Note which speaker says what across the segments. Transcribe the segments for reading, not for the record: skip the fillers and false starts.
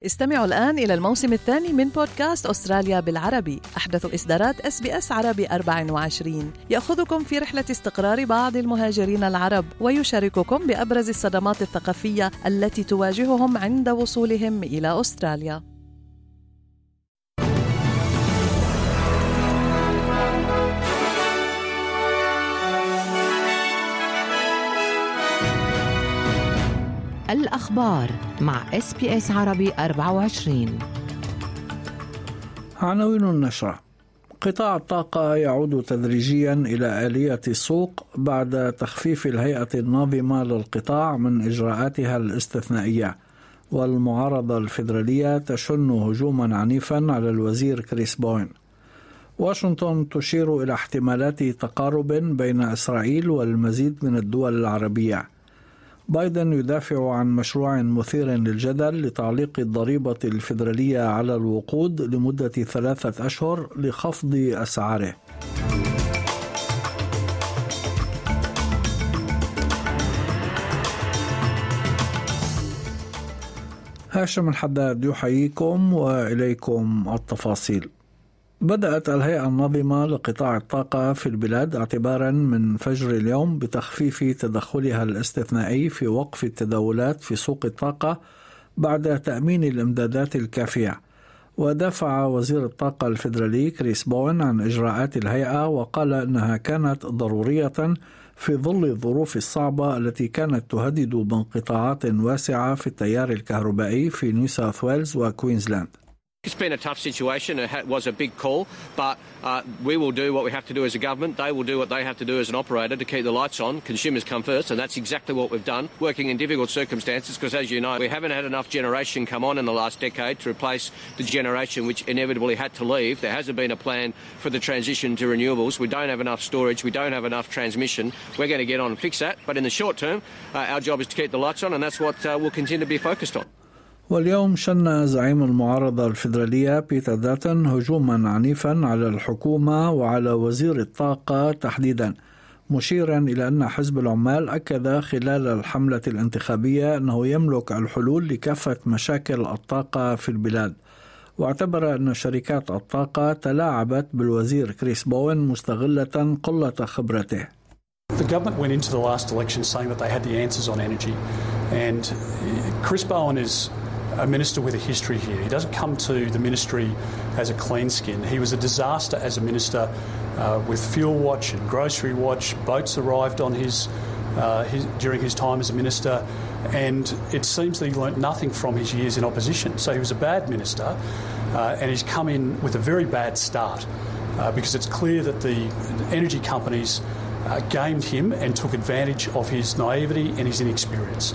Speaker 1: استمعوا الآن إلى الموسم الثاني من بودكاست أستراليا بالعربي، أحدث إصدارات SBS عربي 24، يأخذكم في رحلة استقرار بعض المهاجرين العرب ويشارككم بأبرز الصدمات الثقافية التي تواجههم عند وصولهم إلى أستراليا.
Speaker 2: الأخبار مع SBS عربي 24.
Speaker 3: عناوين النشرة: قطاع الطاقة يعود تدريجيا إلى آلية السوق بعد تخفيف الهيئة الناظمة للقطاع من إجراءاتها الاستثنائية، والمعارضة الفيدرالية تشن هجوما عنيفا على الوزير كريس بوين. واشنطن تشير إلى احتمالات تقارب بين إسرائيل والمزيد من الدول العربية. بايدن يدافع عن مشروع مثير للجدل لتعليق الضريبة الفيدرالية على الوقود لمدة 3 أشهر لخفض أسعاره. هاشم الحداد يحييكم وإليكم التفاصيل. بدأت الهيئة الناظمة لقطاع الطاقة في البلاد اعتبارا من فجر اليوم بتخفيف تدخلها الاستثنائي في وقف التداولات في سوق الطاقة بعد تأمين الإمدادات الكافية. ودافع وزير الطاقة الفيدرالي كريس بوين عن إجراءات الهيئة، وقال إنها كانت ضرورية في ظل الظروف الصعبة التي كانت تهدد بانقطاعات واسعة في التيار الكهربائي في نيو ساوث ويلز وكوينزلاند.
Speaker 4: It's been a tough situation. It was a big call, but we will do what we have to do as a government. They will do what they have to do as an operator to keep the lights on. Consumers come first, and that's exactly what we've done, working in difficult circumstances, because as you know, we haven't had enough generation come on in the last decade to replace the generation which inevitably had to leave. There hasn't been a plan for the transition to renewables. We don't have enough storage. We don't have enough transmission. We're going to get on and fix that. But in the short term, our job is to keep the lights on, and that's what we'll continue to be focused on.
Speaker 3: واليوم شن زعيم المعارضة الفيدرالية بيتر داتن هجوما عنيفا على الحكومة وعلى وزير الطاقة تحديدا، مشيرا إلى أن حزب العمال أكد خلال الحملة الانتخابية أنه يملك الحلول لكافة مشاكل الطاقة في البلاد. واعتبر أن شركات الطاقة تلاعبت بالوزير كريس بوين مستغلة قلة خبرته.
Speaker 5: The government went into the last election saying that they had the answers on energy, and Chris Bowen is a minister with a history here. He doesn't come to the ministry as a clean skin. He was a disaster as a minister with Fuel Watch and Grocery Watch. Boats arrived on during his time as a minister, and it seems that he learnt nothing from his years in opposition. So he was a bad minister, and he's come in with a very bad start because it's clear that the energy companies gamed him and took advantage of his naivety and his inexperience.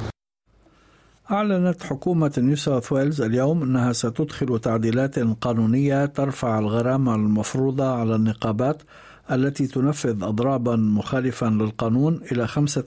Speaker 3: أعلنت حكومة نيو ساوث ويلز اليوم أنها ستدخل تعديلات قانونية ترفع الغرامة المفروضة على النقابات التي تنفذ أضرابا مخالفا للقانون إلى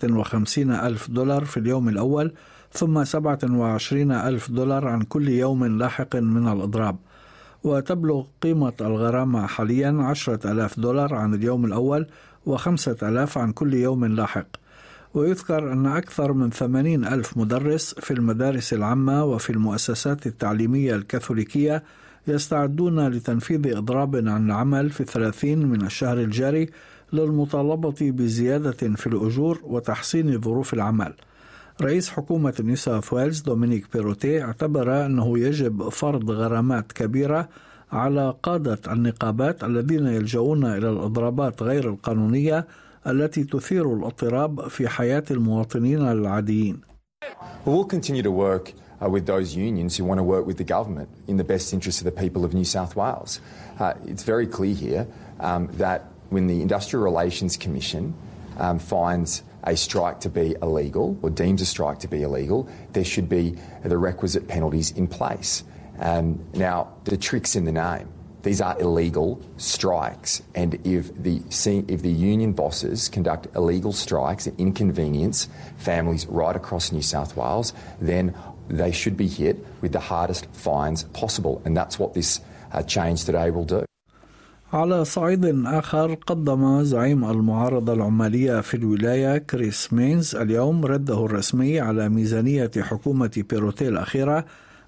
Speaker 3: $55,000 في اليوم الأول، ثم $27,000 عن كل يوم لاحق من الأضراب. وتبلغ قيمة الغرامة حاليا $10,000 عن اليوم الأول و5,000 عن كل يوم لاحق. ويذكر أن أكثر من 80,000 مدرس في المدارس العامة وفي المؤسسات التعليمية الكاثوليكية يستعدون لتنفيذ إضراب عن العمل في 30 من الشهر الجاري للمطالبة بزيادة في الأجور وتحسين ظروف العمل. رئيس حكومة نيو ساوث ويلز دومينيك بيروتي اعتبر أنه يجب فرض غرامات كبيرة على قادة النقابات الذين يلجؤون إلى الإضرابات غير القانونية التي تثير الاضطراب في حياة المواطنين العاديين.
Speaker 6: We'll continue to work with those unions who want to work with the government in the best interest of the people of New South Wales. It's very clear here that when the Industrial Relations Commission finds a strike to be illegal or deems a strike to be illegal, there should be the requisite penalties in place. Now, the trick's in the name. These are illegal strikes, and if the union bosses conduct illegal strikes and inconvenience families right across New South Wales, then they should be hit with the hardest fines possible, and that's what this change today will do.
Speaker 3: على صعيد آخر، قدم زعيم المعارضة العمالية في الولاية كريس مينز اليوم رده الرسمي على ميزانية حكومة بيروتي الأخيرة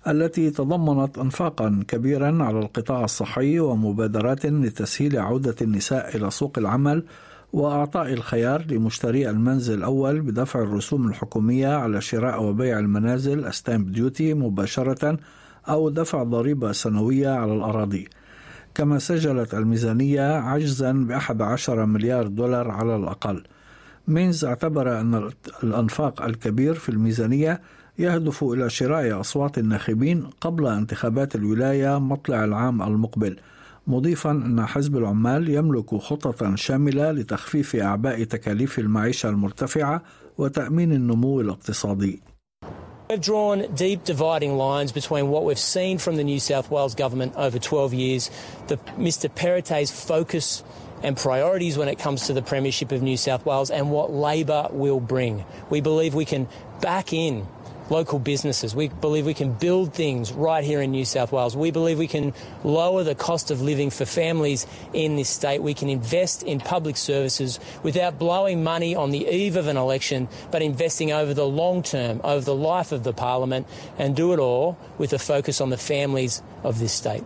Speaker 3: التي تضمنت إنفاقا كبيرا على القطاع الصحي ومبادرات لتسهيل عودة النساء إلى سوق العمل وأعطاء الخيار لمشتري المنزل الأول بدفع الرسوم الحكومية على شراء وبيع المنازل ستامب ديوتي مباشرة أو دفع ضريبة سنوية على الأراضي. كما سجلت الميزانية عجزا ب$11 مليار على الأقل. مينز اعتبر أن الأنفاق الكبير في الميزانية يهدف إلى شراء أصوات الناخبين قبل انتخابات الولاية مطلع العام المقبل، مضيفا أن حزب العمال يملك خطة شاملة لتخفيف أعباء تكاليف المعيشة المرتفعة وتأمين النمو الاقتصادي.
Speaker 7: We've drawn deep dividing lines between what we've seen from the New South Wales government over 12 years, Mr Perrottet's focus and priorities when it comes to the Premiership of New South Wales, and what Labor will bring. We believe we can back in local businesses. We believe we can build things right here in New South Wales. We believe we can lower the cost of living for families in this state. We can invest in public services without blowing money on the eve of an election, but investing over the long term, over the life of the parliament, and do it all with a focus on the families of this state.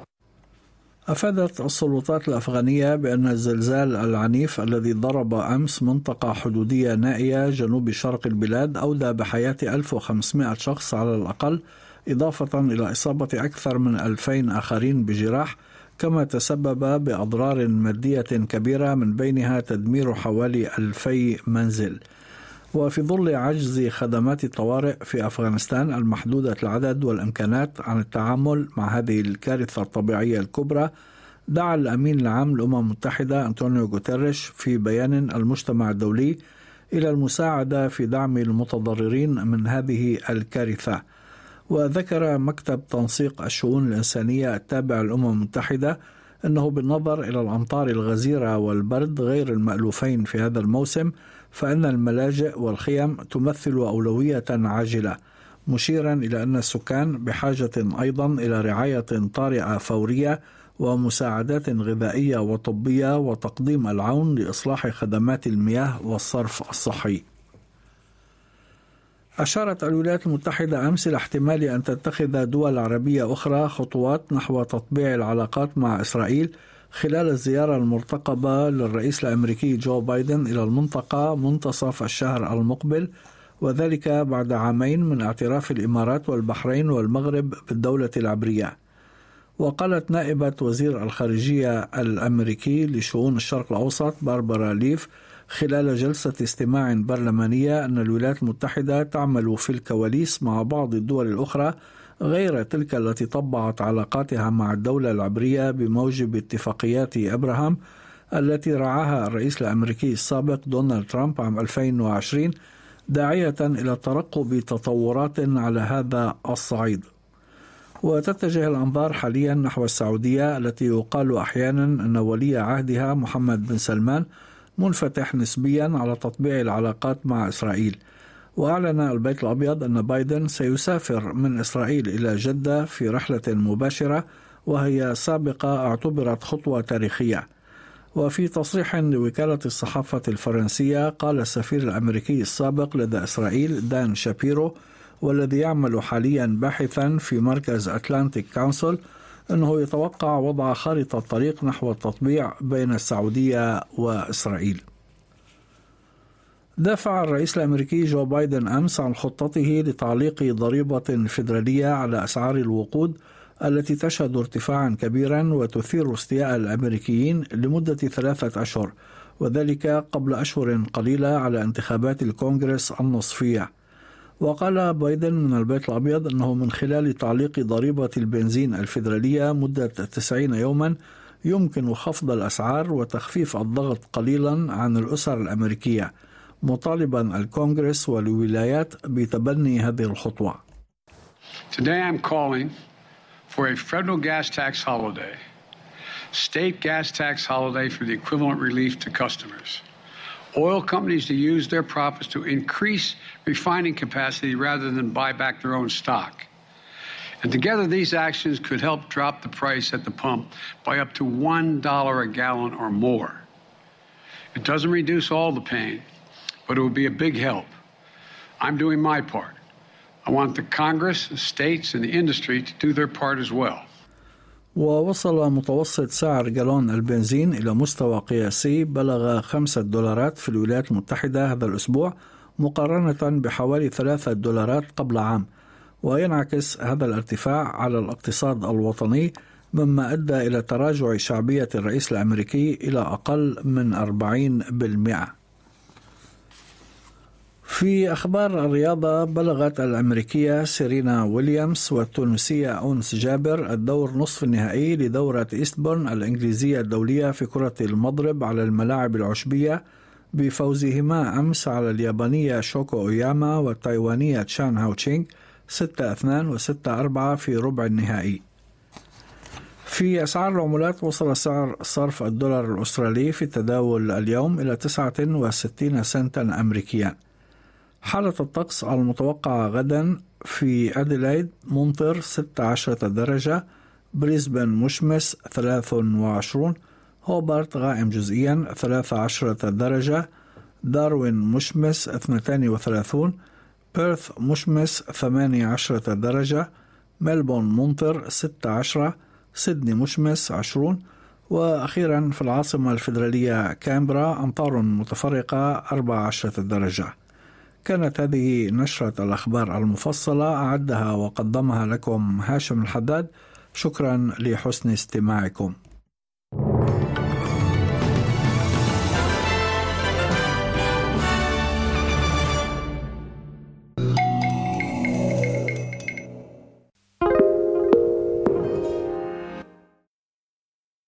Speaker 3: أفادت السلطات الأفغانية بأن الزلزال العنيف الذي ضرب أمس منطقة حدودية نائية جنوب شرق البلاد أودى بحياة 1500 شخص على الأقل، إضافة إلى إصابة أكثر من 2000 آخرين بجراح، كما تسبب بأضرار مادية كبيرة من بينها تدمير حوالي 2000 منزل. وفي ظل عجز خدمات الطوارئ في أفغانستان المحدودة العدد والإمكانات عن التعامل مع هذه الكارثة الطبيعية الكبرى، دعا الأمين العام للأمم المتحدة أنطونيو غوتيريش في بيان المجتمع الدولي إلى المساعدة في دعم المتضررين من هذه الكارثة. وذكر مكتب تنسيق الشؤون الإنسانية التابع للأمم المتحدة أنه بالنظر إلى الأمطار الغزيرة والبرد غير المألوفين في هذا الموسم، فإن الملاجئ والخيم تمثل أولوية عاجلة، مشيرا إلى أن السكان بحاجة أيضا إلى رعاية طارئة فورية ومساعدات غذائية وطبية وتقديم العون لإصلاح خدمات المياه والصرف الصحي. أشارت الولايات المتحدة أمس إلى احتمال أن تتخذ دول عربية أخرى خطوات نحو تطبيع العلاقات مع إسرائيل خلال الزيارة المرتقبة للرئيس الأمريكي جو بايدن إلى المنطقة منتصف الشهر المقبل، وذلك بعد عامين من اعتراف الإمارات والبحرين والمغرب بالدولة العبرية. وقالت نائبة وزير الخارجية الأمريكي لشؤون الشرق الأوسط باربرا ليف خلال جلسة استماع برلمانية أن الولايات المتحدة تعمل في الكواليس مع بعض الدول الأخرى غير تلك التي طبعت علاقاتها مع الدولة العبرية بموجب اتفاقيات أبراهام التي رعاها الرئيس الأمريكي السابق دونالد ترامب عام 2020، داعية إلى ترقب تطورات على هذا الصعيد. وتتجه الأنظار حاليا نحو السعودية التي يقال أحيانا أن ولي عهدها محمد بن سلمان منفتح نسبيا على تطبيع العلاقات مع إسرائيل. وأعلن البيت الأبيض أن بايدن سيسافر من إسرائيل إلى جدة في رحلة مباشرة، وهي سابقة اعتبرت خطوة تاريخية. وفي تصريح لوكالة الصحافة الفرنسية قال السفير الأمريكي السابق لدى إسرائيل دان شابيرو، والذي يعمل حاليا باحثا في مركز أتلانتيك كونسل، أنه يتوقع وضع خارطة طريق نحو التطبيع بين السعودية وإسرائيل. دافع الرئيس الأمريكي جو بايدن أمس عن خطته لتعليق ضريبة فيدرالية على أسعار الوقود التي تشهد ارتفاعا كبيرا وتثير استياء الأمريكيين لمدة 3 أشهر، وذلك قبل أشهر قليلة على انتخابات الكونغرس النصفية. وقال بايدن من البيت الأبيض أنه من خلال تعليق ضريبة البنزين الفيدرالية مدة 90 يوما يمكن خفض الأسعار وتخفيف الضغط قليلا عن الأسر الأمريكية، مطالبا الكونغرس والولايات بتبني هذه الخطوة.
Speaker 8: Today I'm calling for a federal gas tax holiday, state gas tax holiday for the equivalent relief to customers. Oil companies to use their profits to increase refining capacity rather than buy back their own stock. And together these actions could help drop the price at the pump by up to $1 a gallon or more. It doesn't reduce all the pain, but it would be a big help. I'm doing my part. I want the Congress, the states, and the industry to do their part as well.
Speaker 3: ووصل متوسط سعر جالون البنزين إلى مستوى قياسي بلغ $5 في الولايات المتحدة هذا الأسبوع، مقارنة بحوالي $3 قبل عام، وينعكس هذا الارتفاع على الاقتصاد الوطني، مما أدى إلى تراجع شعبية الرئيس الأمريكي إلى أقل من 40%. في أخبار الرياضة، بلغت الأمريكية سيرينا ويليامز والتونسية أونس جابر الدور نصف النهائي لدورة إيستبورن الإنجليزية الدولية في كرة المضرب على الملاعب العشبية بفوزهما أمس على اليابانية شوكو أوياما والتايوانية تشان هاو تشينغ 6-2 و6-4 في ربع النهائي. في أسعار العملات، وصل سعر صرف الدولار الأسترالي في التداول اليوم إلى 69 سنتا أمريكيا. حالة الطقس المتوقعة غدا: في أديلايد ممطر 16 درجة، بريسبن مشمس 23، هوبارت غائم جزئيا 13 درجة، داروين مشمس 32، بيرث مشمس 18 درجة، ملبون ممطر 16، سيدني مشمس 20، وأخيرا في العاصمة الفيدرالية كامبرا أمطار متفرقة 14 درجة. كانت هذه نشرة الأخبار المفصلة، أعدها وقدمها لكم هاشم الحداد. شكرا لحسن استماعكم.